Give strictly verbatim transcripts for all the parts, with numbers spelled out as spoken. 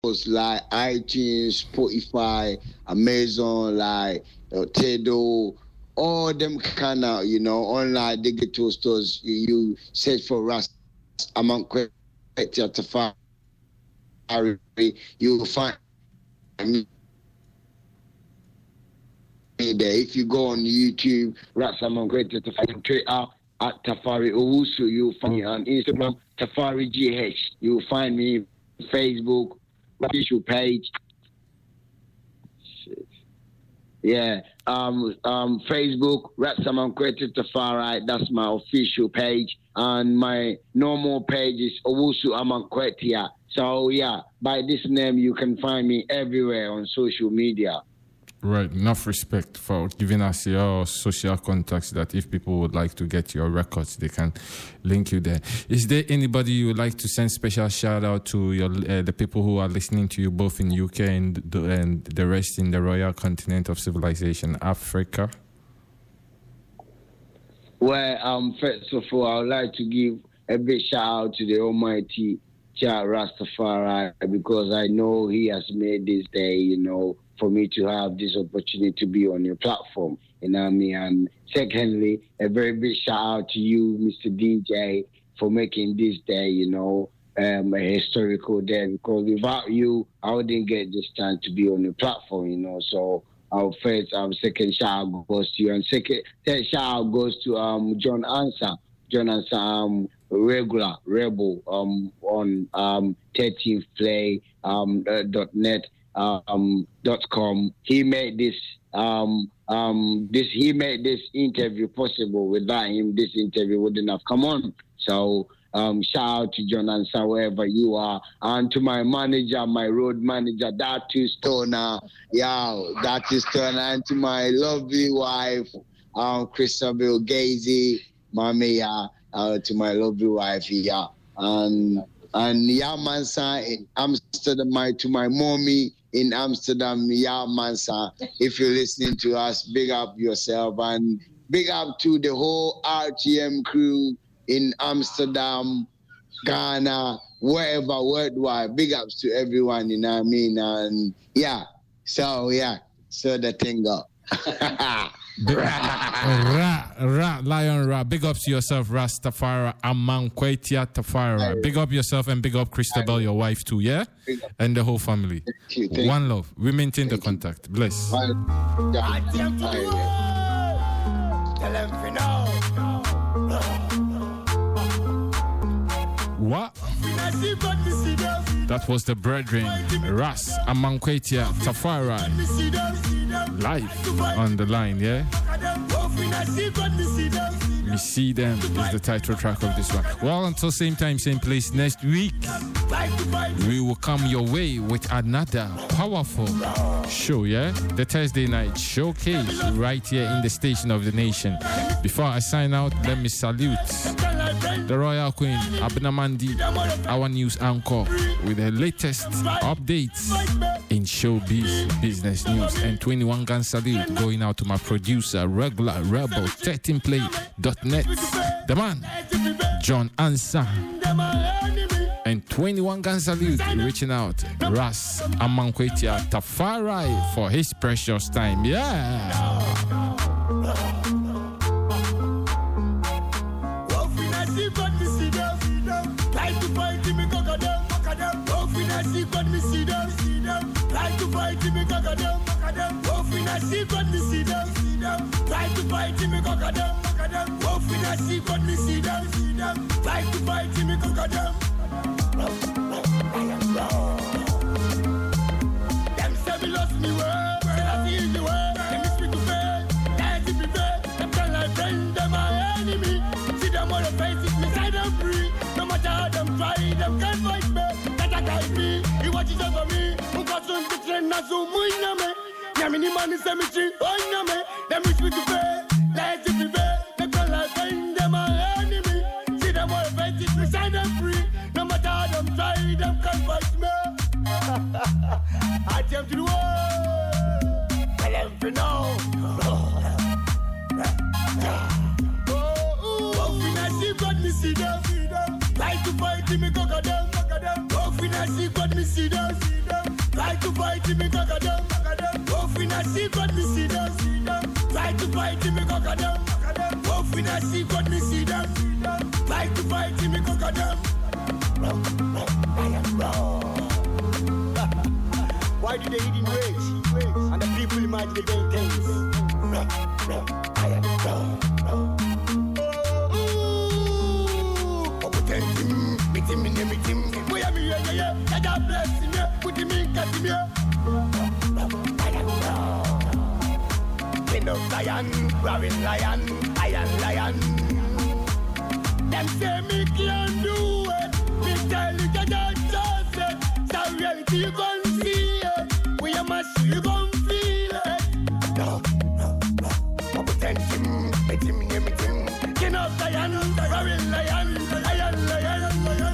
like iTunes, Spotify, Amazon, like uh, Tidal, all them kind of, you know, online digital stores. You, you search for Ras Amankweti Tafari, you will find me there. If you go on YouTube, Ras Amankweti Tafari, Twitter at Tafari Owusu, you'll find me on Instagram, Tafari G H. You'll find me Facebook, official page. Shit. Yeah, um, um, Facebook, Ratsamankweti Tafari. That's my official page, and my normal page is Owusu Amankwetia. So yeah, by this name you can find me everywhere on social media. Right, enough respect for giving us your social contacts that if people would like to get your records, they can link you there. Is there anybody you would like to send special shout out to your uh, the people who are listening to you both in U K and the, and the rest in the royal continent of civilization, Africa? Well, um, first of all, I would like to give a big shout out to the Almighty Jah Rastafari, because I know He has made this day, you know, for me to have this opportunity to be on your platform, you know what I mean? And secondly, a very big shout out to you, Mister D J, for making this day, you know, um, a historical day, because without you, I wouldn't get this time to be on your platform, you know. So our first, um, second shout out goes to you, and second, third shout out goes to um John Ansa, John Ansa, um, regular rebel um on um thirteenth play um uh, dot net. Um, dot com. He made this um um this he made this interview possible. Without him, this interview wouldn't have come on. So um shout out to John Ansa wherever you are, and to my manager, my road manager, Datu Stoner, yeah, Datu Stoner, and to my lovely wife, um Christabel Gazy, mommy, yeah, uh, to my lovely wife, yeah, and and yeah, Mansa in Amsterdam, my to my mommy in Amsterdam, yeah, Mansa. If you're listening to us, big up yourself, and big up to the whole R T M crew in Amsterdam, Ghana, wherever, worldwide. Big ups to everyone, you know what I mean? And yeah, so yeah, so the thing up. Big, ra, ra, Lion Ra. Big ups to yourself, Rastafari Amankwetia Tafari. Big up yourself and big up Christabel, your wife too, yeah? And the whole family. Thank you, thank One love. We maintain Thank the contact. You. Bless. Bye. What? That was the brethren, Ras Amankwetia Tafari. Live on the line, yeah? We see them is the title track of this one. Well, until same time, same place next week, we will come your way with another powerful show, yeah? The Thursday night showcase right here in the station of the nation. Before I sign out, let me salute the Royal Queen, Abena Mandi, our news anchor, with the latest updates in showbiz business news. And twenty-one gun salute going out to my producer, regular rebel, thirteen play dot net, the man, John Ansa. And twenty-one gun salute reaching out, Ras Amankwetia Tafari, for his precious time. Yeah. See what me see them, see them. Try to fight me, cock them, cock them. Wolf in a see what me see them, see them. Try to fight me, cock them, cock them. Wolf in a see what me see them, see them. Try to fight me, cock them. Them say me lost me word, say I feel the word. Them is free to fail, dance to be fair. Them tell like friend, them my enemy. See them on the faces, me side them free. No matter how them try, them can't fight me. Me, he watches over me. Who got some to train, not so much. Yamini man is a mystery. Oh, no, them wish me to pay. Let's be fair. They call like friend, them my enemy. See them all offensive, we sign them free. No matter how them try, them can't fight me. I tell to the world. Tell them for now. Oh, when I see God, me see them. Try to fight me, cock them. See what me see them, see them. fight him, me cock them. Wolf in a secret, me see them. Try to fight him, me cock them. Wolf in a secret, me see them. Try to fight him, me cock them. Why do they eat in rage? And the people imagine the vain things. I am wrong. Oh, pretend him, meet him in the meet him. Boy, I'm here, yeah, yeah. God bless him, yeah. Put him in, cut him, yeah. I am wrong. King of lion, roaring lion, iron lion. Them say me can't do it. Me tell you that I just it. So reality you gon' see it. We are must you gon' feel it. No, no, no. Oh, pretend him, meet him, yeah, meet him. King of lion, roaring lion, iron lion, lion.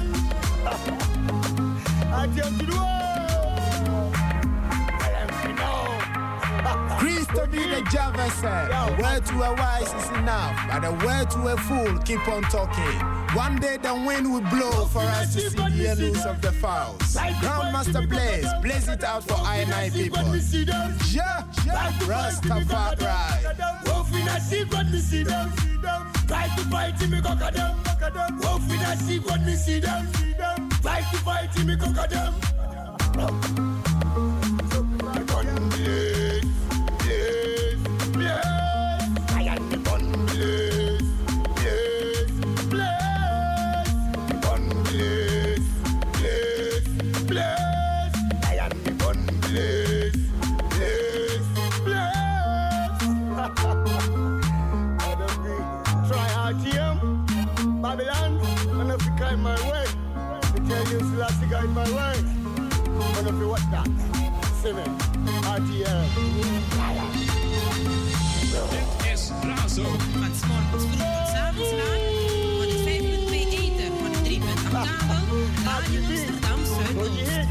I tell you the world. I am now. Christo be the Java said, the word to a wise is enough, but the word to a fool keep on talking. One day the wind will blow for us to see the yellows of the fowls. Grandmaster Blaze, blaze it out for I and I people. Yeah, yeah, Rastafari. Wolf in a secret, me see them. Try to fight him, me cock them. Wolf in a secret, me see them. Try to fight him, me cock them. My way, to tell you, Selassie guide my way. But if you watch that, see me, R T L. Dit is Razo. Van 's morgens vroeg tot 's avonds laat. Van het vijf punt twee eten, van de drie punt acht kabel. Radio Amsterdam Zuidoost.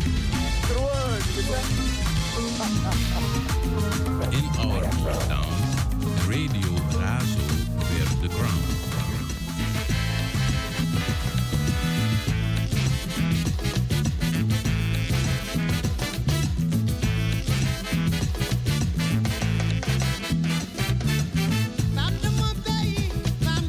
In our hometown, Radio Razo wears the crown. From the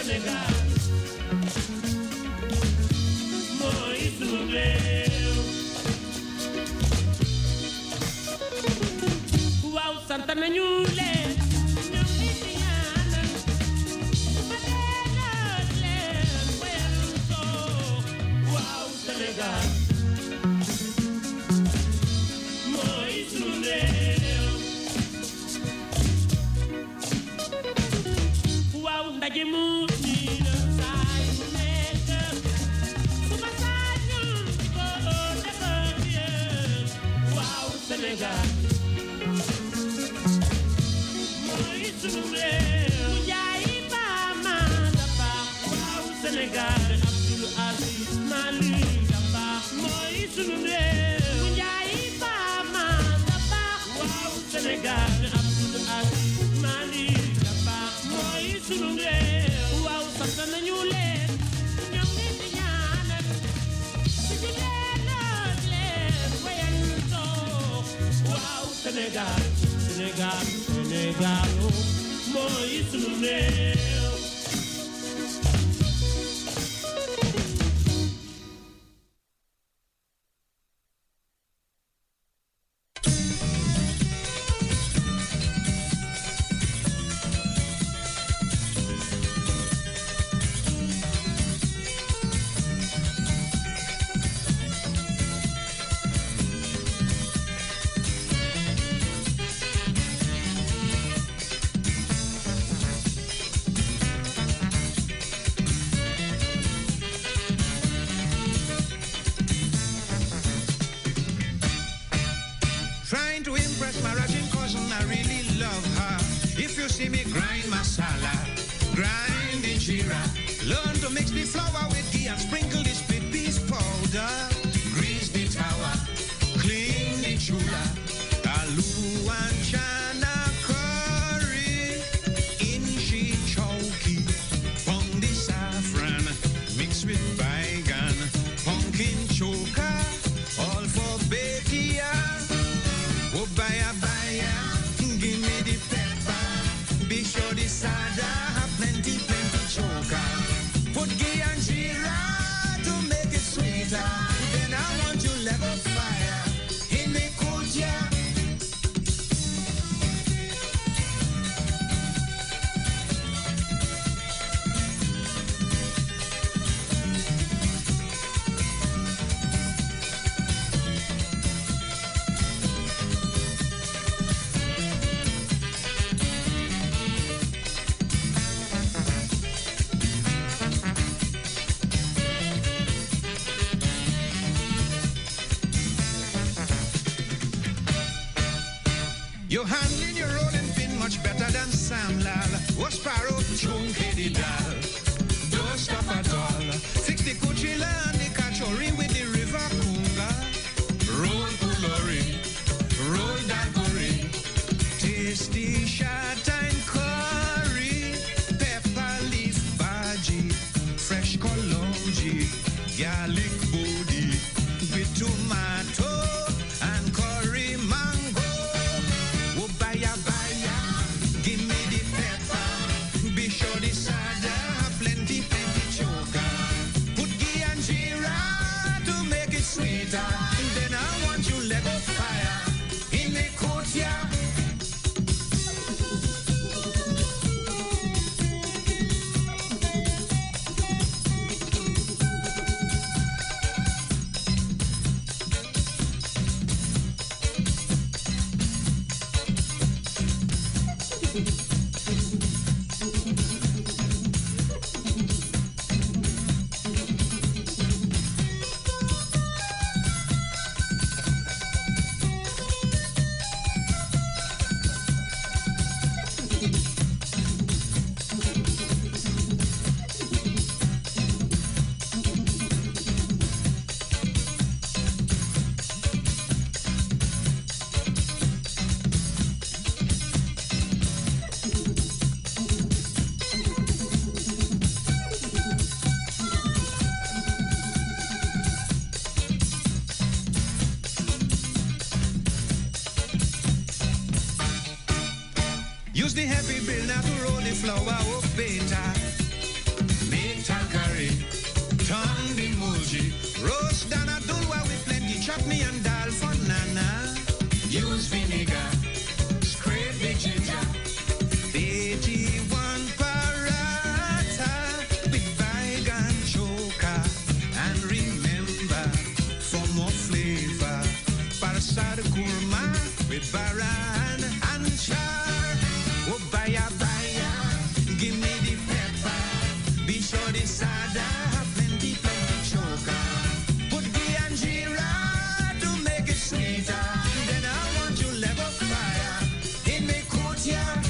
Senegal. Mooy sunu réew. Waaw sant nañu leen. Ñoom ñi fi ñaanal. Ma delloo leen wayal soo. Waaw Sénégal. Mooy sunu réew. Waaw ndaje mu nii la saa yu nekk. Suba saa ñun di ko defar yéen. Waaw Sénégal. Mooy sunu réew. Mu jaay ba ma da baax. Waaw Sénégal. Abdou Aziz Malick da baax. Mooy sunu réew. Mu jaay ba ma da baax. Waaw Sénégal. Abdou Aziz Malick da baax. Mooy sunu réew. Waaw sant nañu leen. Ñoom ñi di ñaanal. Ci di leen ak leen wayal soo. Waaw Sénégal. Sénégal. Sénégal. Mooy sunu réew. Trying to impress my Russian cousin, I really love her. If you see me grind masala, grind injera, learn to mix the flour with ghee and sprinkle the split peas powder. Grease the tower, clean the chula, aloo and chana curry, inchi chowki, pound the saffron, mix with baigan, pumpkin choka, all for Betia. Oh, baya, baya, give me the pepper. Be sure the sada have plenty, plenty choker. Put ghee and jeera to make it sweeter. Then I want you level fire in the kuja. You're handling your rolling pin much better than Sam Lal. Was Sparrow chunky dal. Don't stop at all. Fix the Kuchila and the Kachori with the river Kunga. Roll Pulori, roll Dagori. Tasty shot and curry. Pepper leaf bhaji. Fresh kolonji. Garlic body. With tomato and curry mango. Oh, baya, baya, give me the pepper. Be sure the sada have plenty, plenty choker. Put ghee and jeera to make it sweeter. Then I want you let go fire in the courtyard. Use the heavy bill now to roll the flour up better. than a dulwa with plenty chutney and dal for nana. Use vinegar, scrape the ginger. eighty-one paratha with vigan choker. And remember, for more flavor, parasad kurma with baran and char. Oh, baya baya, give me the pepper. Be sure the sada have plenty, plenty choker. Put the anjira to make it sweeter. Then I want you level fire in me courtyard.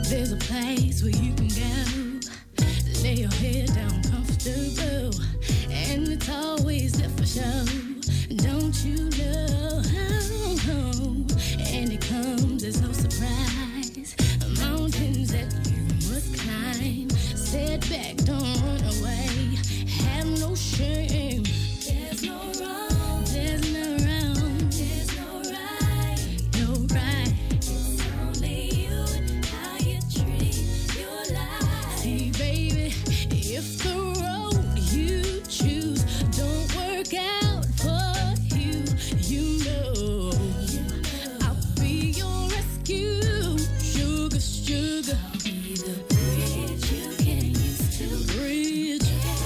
There's a place where you can go, lay your head down comfortable, and it's always there for show. Don't you know? And it comes as no surprise. Mountains that you must climb. Setback, don't run away. Have no shame. There's no wrong. There's no wrong. There's no right. No right. It's only you and how you treat your life. See, baby, if the road you choose don't work out for you, you know I'll be your rescue. Sugar, sugar. I'll be the bridge you can use to bridge.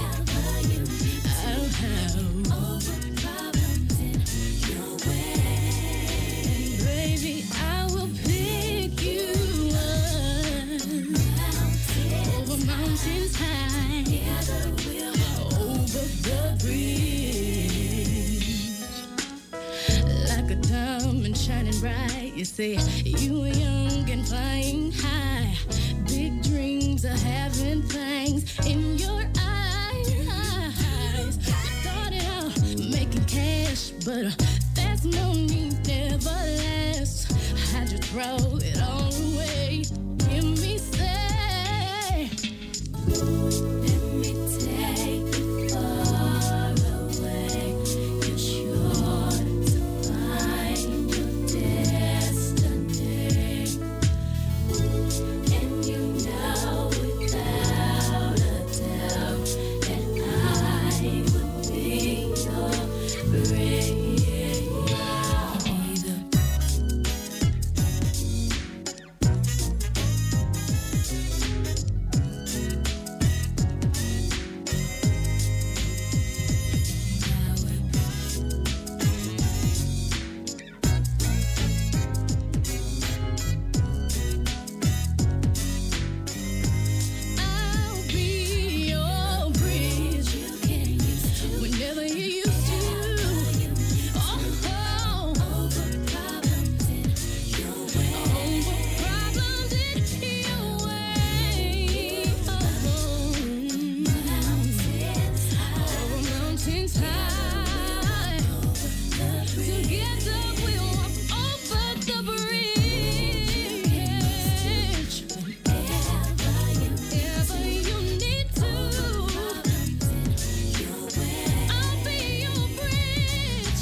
I'll have over problems in your way. Baby, I will pick you up over mountains high, over the bridge. Like a diamond shining bright, you say you are young and flying high. Big dreams are having fangs in your eyes. You started out making cash, but uh, that's no need, never lasts. I just throw it all away. Give me say, let me take you far away. You're sure to find your destiny, and you know without a doubt that I would be your bridge. I'll be your bridge you can use whenever you used to. Oh, over problems in your way. Over problems in your way. Oh, mountains high. Over mountains high. Together we'll walk over the bridge. Whenever you need to, I'll be your bridge.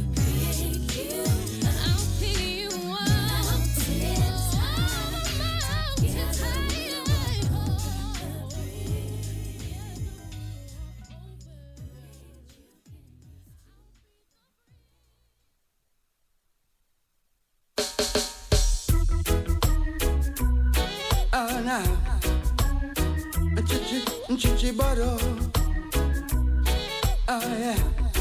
I'll pick you up. Mountains Oh, now, chichi, chichi bottle. Oh, yeah.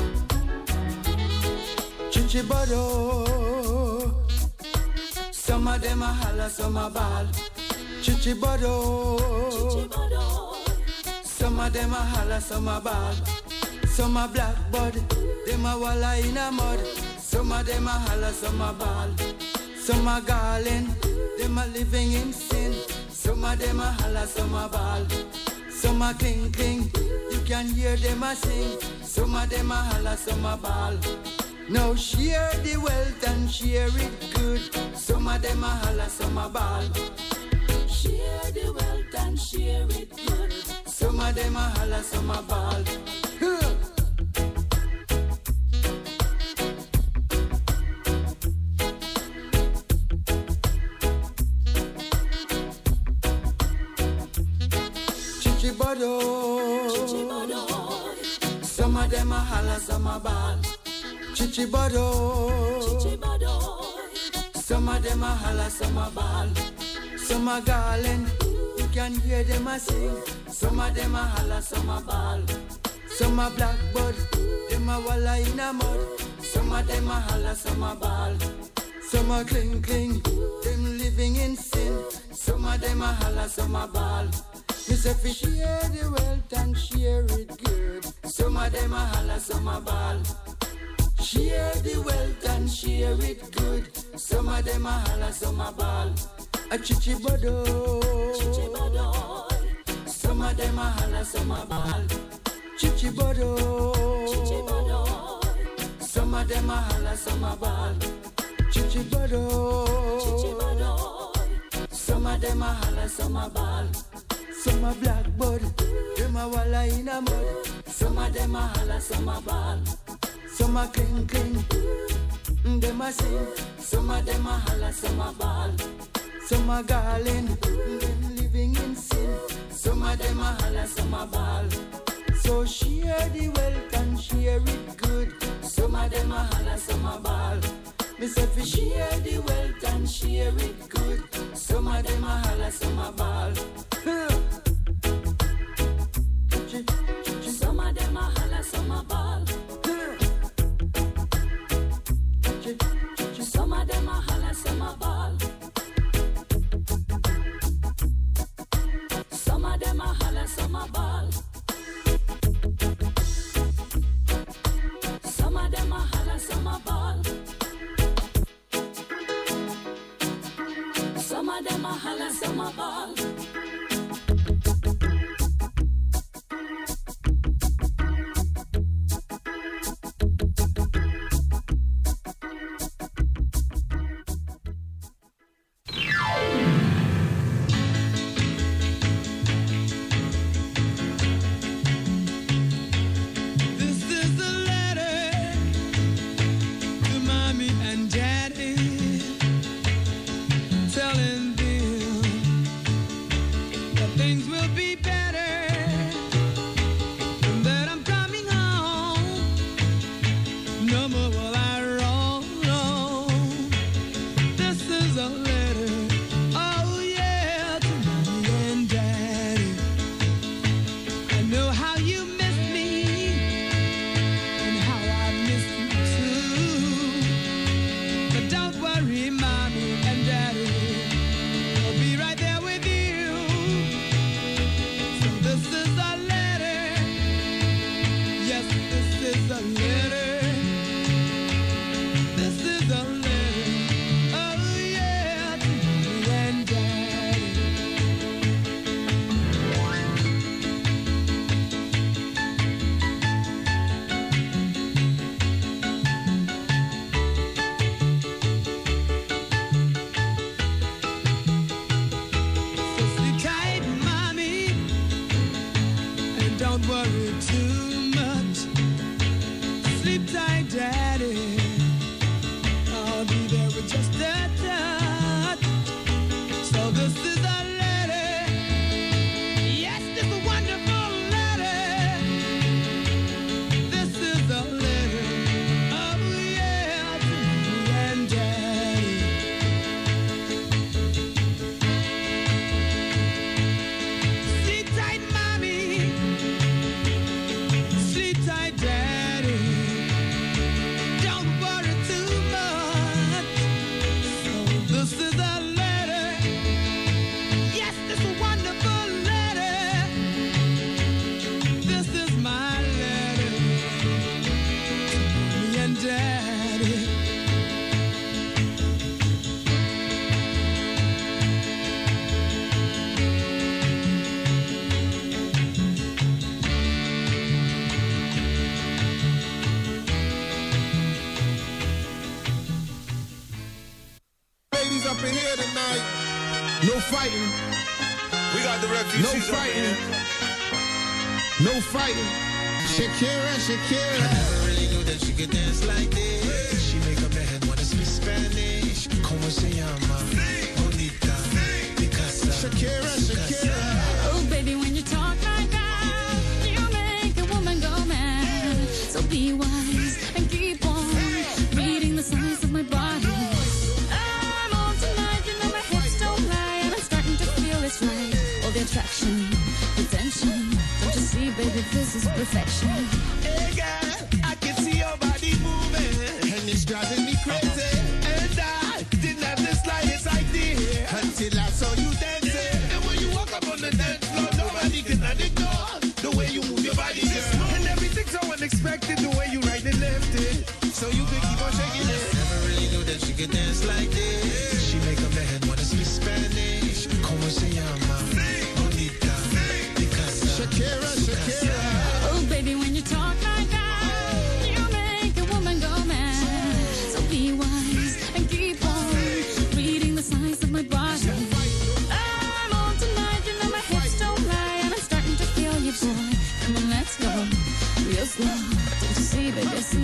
Chichi bottle. Some of them are holla, some are ball. Chichi bottle. Some of them are holla, some are ball. Some are blackbird, them are walla in a mud. Some of them are holla, some are ball. Some are garland, them are living in sin. Some of them are holla, some are ball. Some are cling cling, you can hear them a sing. Some of them are holla, some are ball. Now share the wealth and share it good. Some of them are holla, some are ball. Share the wealth and share it good. Some of them are holla, some are ball. Huh. Chichibodo. Some of them are holla, some are ball. Chichibodo. Some of them are holla, some are ball. Some are garland, you can hear them a sing. Some of them are holla, some are ball. Some are blackbird, them are walla in a mud. Some of them are holla, some are ball. Some are cling cling, them living in sin. Some of them are holla, some are ball. Me say fi share the wealth and share it good. Some of them are holla, some are ball. Share the wealth and share it good. Some of them are holla, some are ball. A chichibodo. Some of them a holla, some a ball. Chichi bodoy. Some of them a holla, some a ball. Chichi bodoy. Some of them a holla, some a ball. Some a blackbird, them a walla in a mud. Some of them a holla, some a ball. Some a cling cling, them a sing. Some of them a holla, some a ball. Some a garland, them living in sin. Some of them a holla, some a ball. So share the wealth and share it good. Some of them a holla, some a ball. Me say fi share the wealth and share it good. Some of them a holla, some a ball. Some of them a holla, some a ball. Some of them a holla, some a ball. Some of them a holla, some a ball. Some of them a holla, some a ball. Some of them a holla, some a ball. No fighting. We got the refugees. No fighting. No fighting. Shakira, Shakira. I never really knew that she could dance like this. She make a man wanna speak Spanish. Como se llama? Bonita. Picasa. Shakira, Shakira. Oh, baby, when you talk like that, you make a woman go mad. So be wise and keep on reading the signs of my body. I'm on tonight, you know my hips don't lie, and I'm starting to feel it's right. All the attraction, the tension. Don't you see, baby, this is perfection. Hey, girl, I can see your body moving, and it's driving me crazy. And I didn't have the slightest idea until I saw you dancing. And when you walk up on the dance floor, nobody can ignore the way you move your body, girl. And everything's so unexpected, the way you right and left it. So you can keep on shaking it. Never really knew that she could dance like this. She make a man wanna speak Spanish. Como se llama?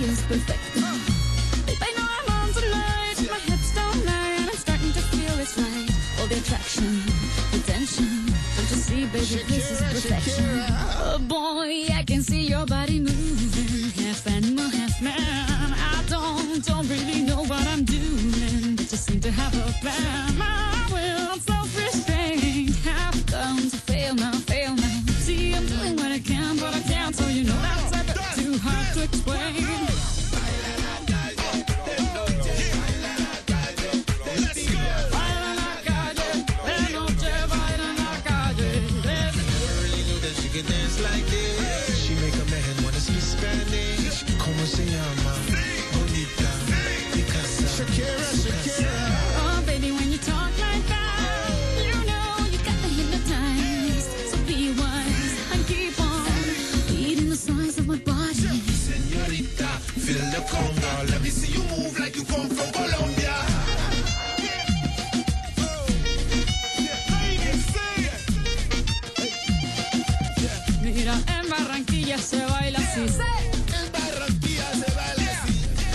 is perfect. Babe, I know I'm on tonight. My hips don't lie, and I'm starting to feel it's right. All the attraction, the tension. Don't you see, baby, this is perfection. Oh boy, I can see your body moving, half animal, half man. I don't, don't really know what I'm doing, but just seem to have a plan. My will, I'm self-restrained, have come to fail now, fail now. See, I'm doing what I can, but I can't, so you know that's a bit too hard to explain. Dance like this. She make a man wanna speak Spanish. Como se llama? Bonita. Picasa. Shakira, Shakira. Oh, baby, when you talk like that, you know you got me hypnotized. So be wise and keep on beating the size of my body. Señorita, feel the conga. Let me see you move like you come from Colombia. Mira, en Barranquilla se baila así. En Barranquilla se baila así.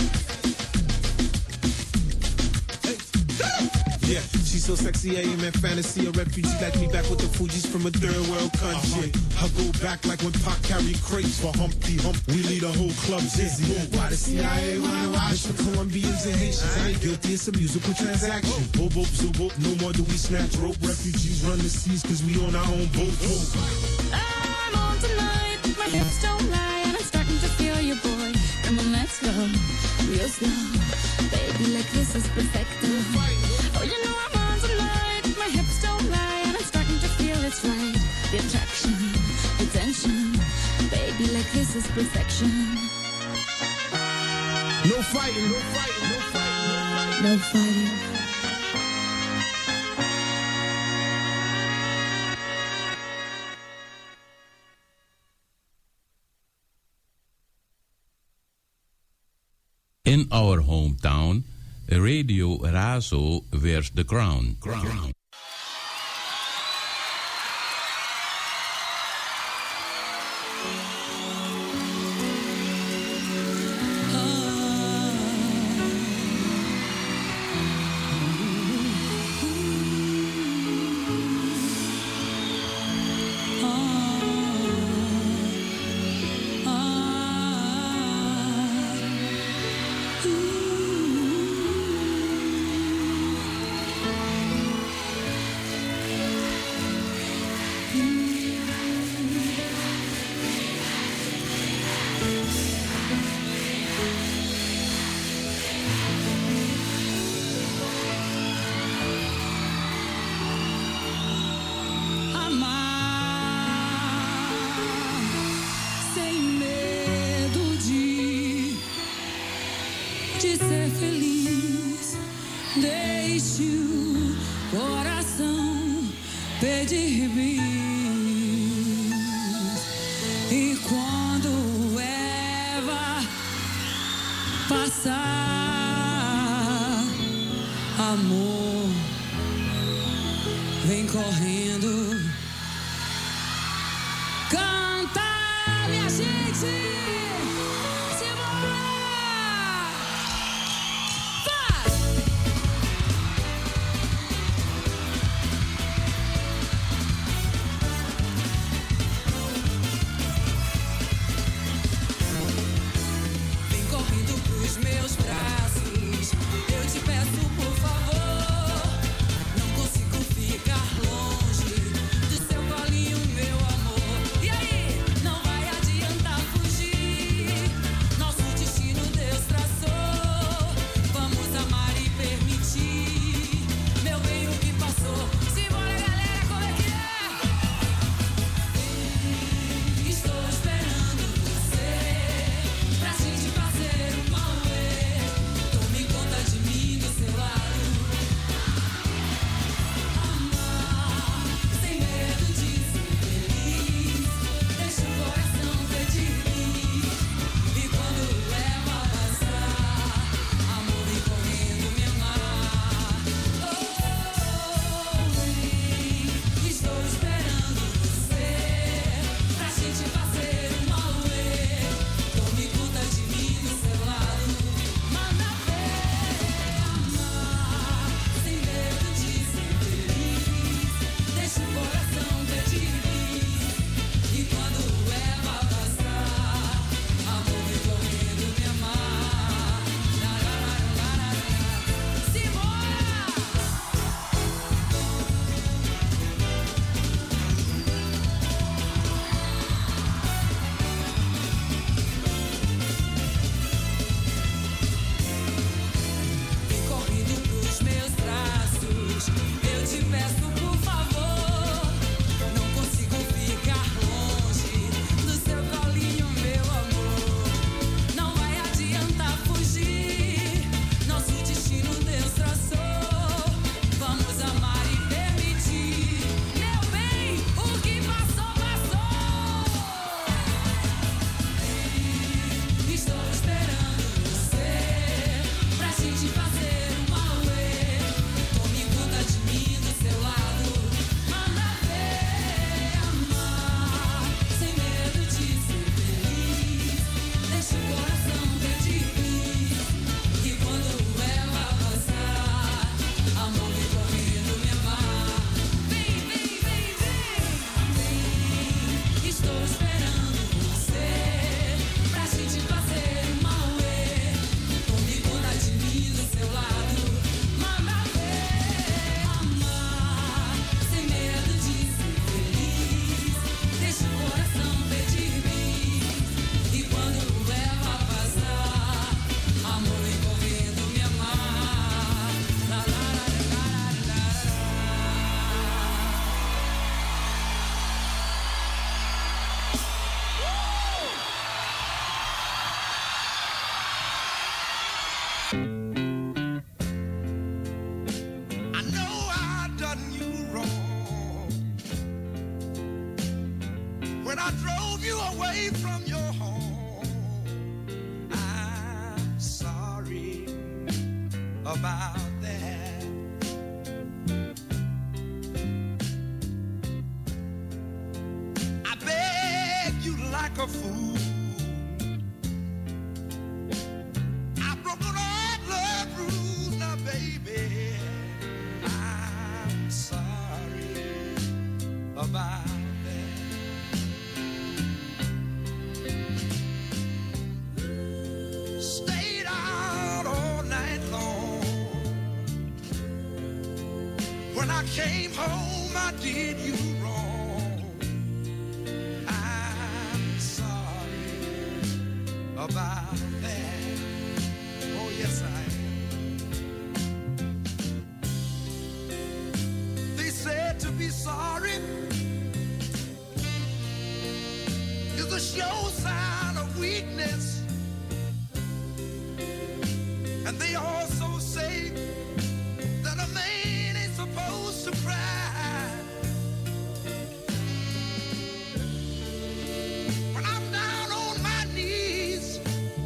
Yeah, she's so sexy, I am in fantasy. A refugee like me back with the Fugees from a third world country. I go back like when Pac carried crates for Humpty Hump. We lead a whole club dizzy. Why the C I A wanna watch the Colombians and Haitians? I ain't guilty, it's a musical transaction. Boop, boop, zoop, boop. No more do we snatch rope. Refugees run the seas cause we on our own boat. I'm on tonight, my hips don't lie, and I'm starting to feel you, boy. Come on, let's go, real slow. Baby, like this is perfect. Oh, you know I'm on tonight, my hips don't lie, and I'm starting to feel it's right. The attraction, the tension. Baby, like this is perfection. No fighting, no fighting, no fighting, no fighting. In our hometown, Radio Razo wears the crown. crown. Ficar longe do seu colinho, meu amor. E aí? when I drove you away from your home. I'm sorry about that. I begged you like a fool. I broke all the rules now, baby. I'm sorry about stayed out all night long. When I came home, I did you wrong. I'm sorry about that. Oh, yes, I am. They said to be sorry is a sure sign of weakness. And they also say that a man ain't supposed to cry. When I'm down on my knees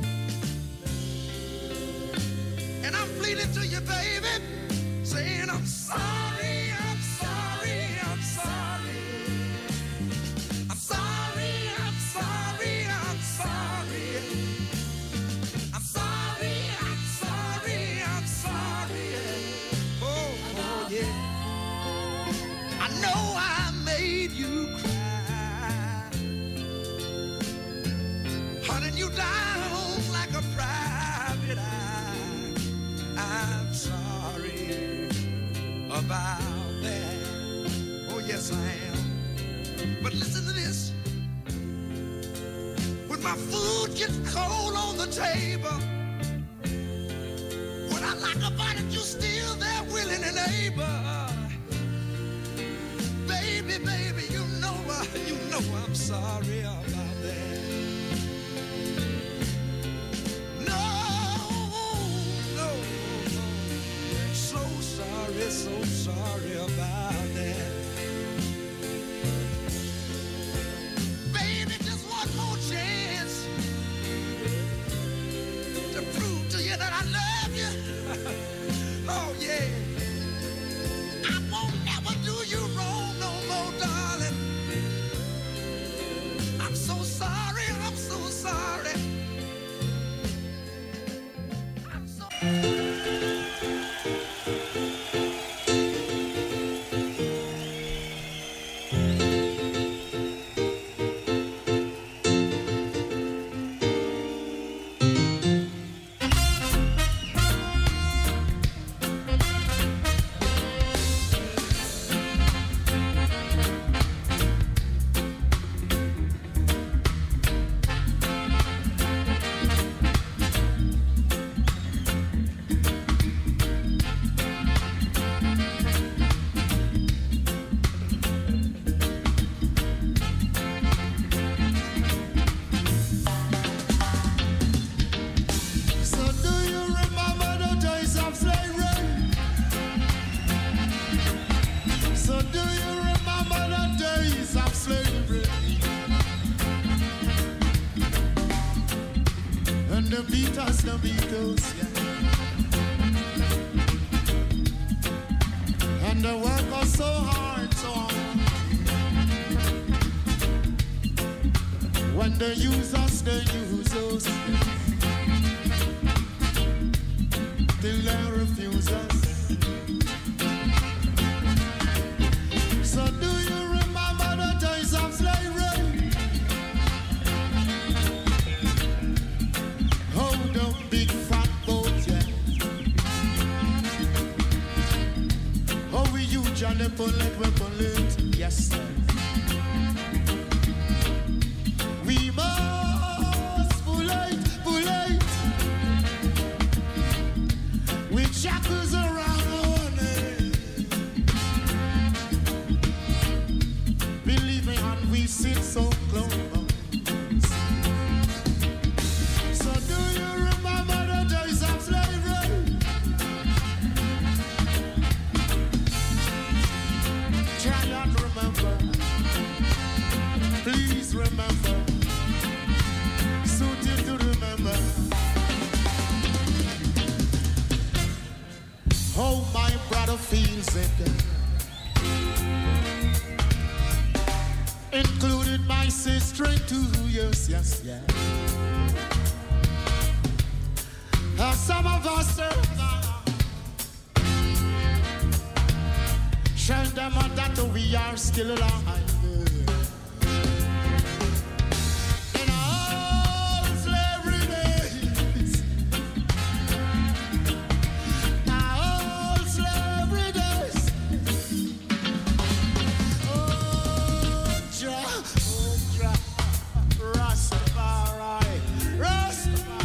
and I'm pleading to you, baby, saying I'm sorry, I'm sorry, I'm sorry. I'm sorry, I'm sorry, I'm sorry. I'm sorry, I'm sorry, I'm sorry. Oh, oh, yeah. I know I made you cry, hunting you down like a private eye. I'm sorry about that. Oh, yes, I am. But listen to this. When my food gets cold on the table, when I like about it, you still there willing and able. Baby, baby, you know, uh, you know I'm sorry about that. No, no, no. So sorry, so sorry about that. Baby, just one more chance to prove to you that I love you. Oh, yeah. I won't never do you wrong no more, darling. I'm so sorry, I'm so sorry. I'm so the Beatles, the Beatles, yeah. And the work was so hard, so hard. When they use us, they use us. Till they refuse us. So do you remember the days of slavery? Big fat boat, yeah. Oh, we huge and they pull it, we pull it, yes, sir. We must pull it, pull it. With shackles around our neck. Believe me, and we sit so close. Please remember. said. Included my sister in two years, yes, yes. Uh, some of us uh, show them uh, that we are still alive. In all slavery days, all slavery days. Oh, Jah, oh, Jah, Rastafari, Rastafari.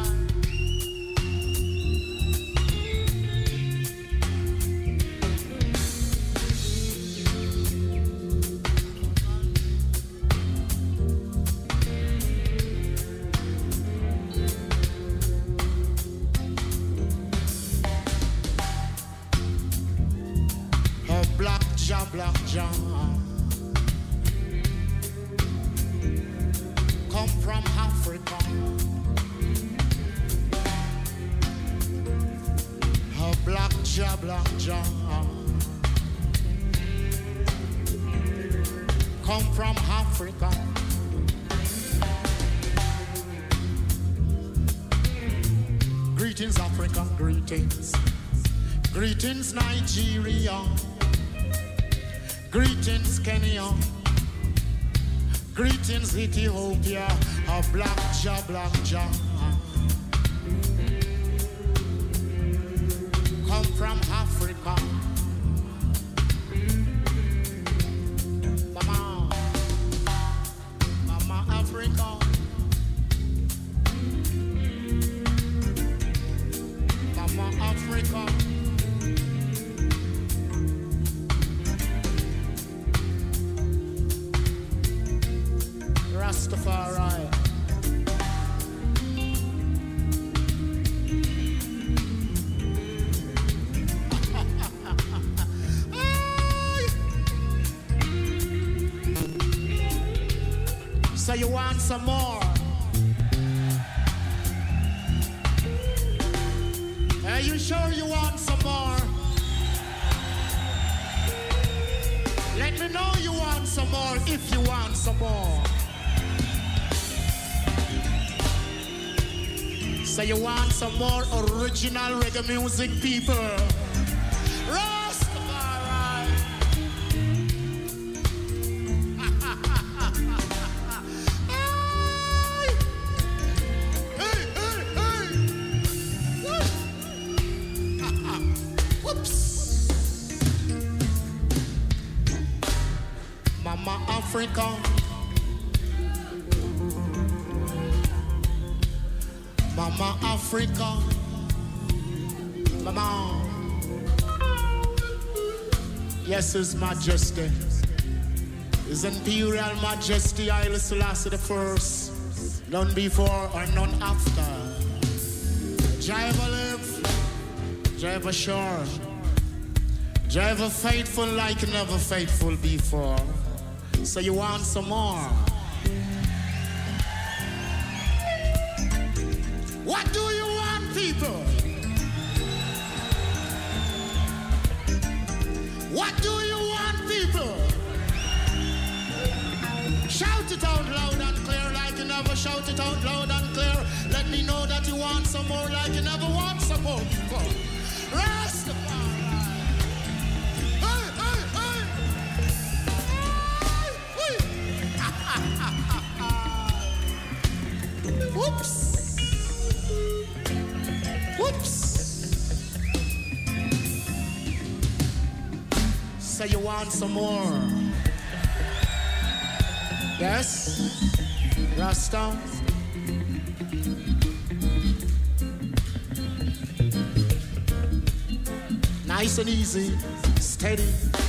Black Jah, Black Jah, come from Africa. A Black Jah, Black Jah, come from Africa. Greetings, Africa, greetings. Greetings, Nigeria. Greetings, Kenya. Greetings, Ethiopia. A Black Jah, Black Jah. Come from Africa. Mama, Mama Africa. Mama Africa. Rastafari. So you want some more? Are you sure you want some more? Let me know you want some more if you want some more. So you want some more original reggae music, people? Rastafari. Hey, hey, hey. Whoops. Mama Africa. Mama Africa, Mama. Yes, His Majesty, His Imperial Majesty Haile Selassie the First, none before or none after. Jive live, Jive sure, Jive faithful like never faithful before. So you want some more? What do you want, people? What do you want, people? Shout it out loud and clear like you never shout it out loud and clear. Let me know that you want some more like you never want some more, people. Rastafari. Hey, hey, hey. Hey, whoops. Whoops. So you want some more? Yes? Rasta? Nice and easy, steady,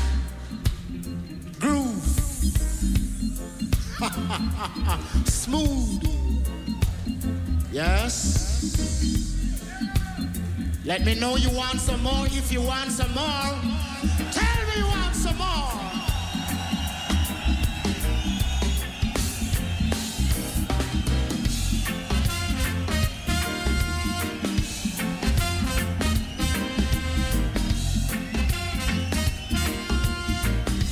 groove, smooth. Yes? Let me know you want some more. If you want some more, tell me you want some more.